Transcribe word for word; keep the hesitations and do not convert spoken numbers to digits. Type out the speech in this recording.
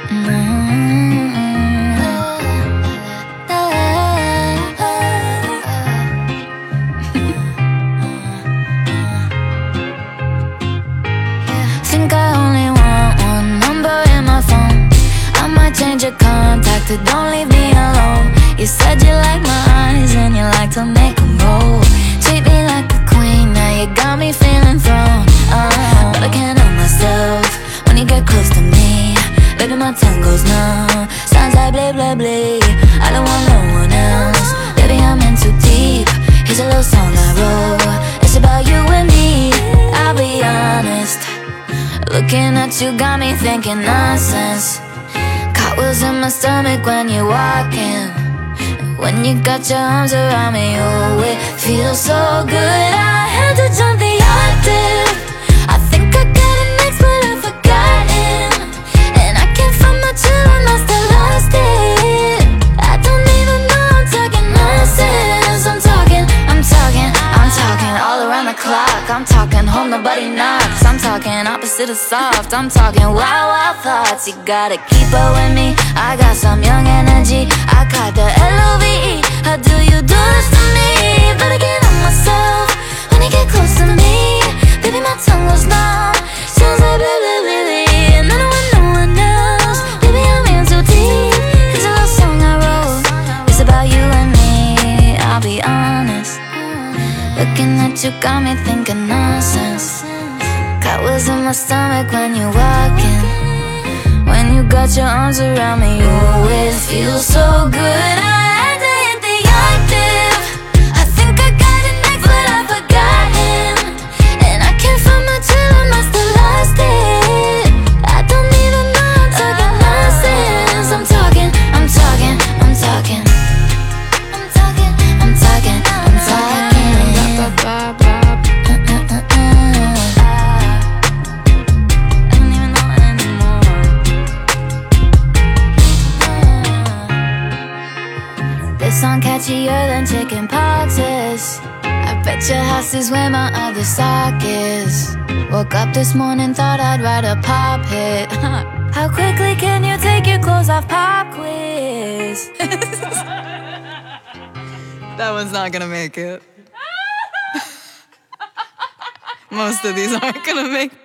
Think I only want one number in my phone. I might change your contact, but don't leave me alone. You said you like my eyes and you like to make them roll. Treat me like a queen, now you got me feeling thrown. Oh, but I can't help myself when you get close to me. Baby, my tongue goes numb, sounds like blah blah blah. I don't want no one else, baby, I'm in too deep. Here's a little song I wrote, it's about you and me. I'll be honest, looking at you got me thinking nonsense. Cartwheels in my stomach when you're walking. When you got your arms around me, oh, it feels so good. I had to jump the octave. I think I got an ex, but I've forgotten. And I can't find my chill, I must have lost it. I don't even know I'm talking nonsense. I'm talking, I'm talking, I'm talking all around the clock. I'm talking home, nobody knocks. I'm talking opposite of soft. I'm talking wild, wild thoughts. You gotta keep up with me, I got some young energy. I got the L O V E. How do you do this to me? But I can't help myself when you get close to me. Baby, my tongue goes numb, sounds like blah blah blah. And I don't want no one else, baby, I'm in too deep. Here's a little song I wrote, it's about you and me. I'll be honest, looking at you got me thinking nonsense. Cartwheels in my stomach when you're walking. When you got your arms around me, you always feel so good. I had to hit the octave. I think I got an ex, but I forgot him. And I can't find my chill, I must have lost it. I don't even know I'm talking nonsense. I'm talking, I'm talking, I'm talking. I'm talking, I'm talking, I'm talking. This song catchier than chicken pox is. I bet your house is where my other sock is. Woke up this morning, thought I'd write a pop hit. How quickly can you take your clothes off, pop quiz? That one's not gonna make it. Most of these aren't gonna make it.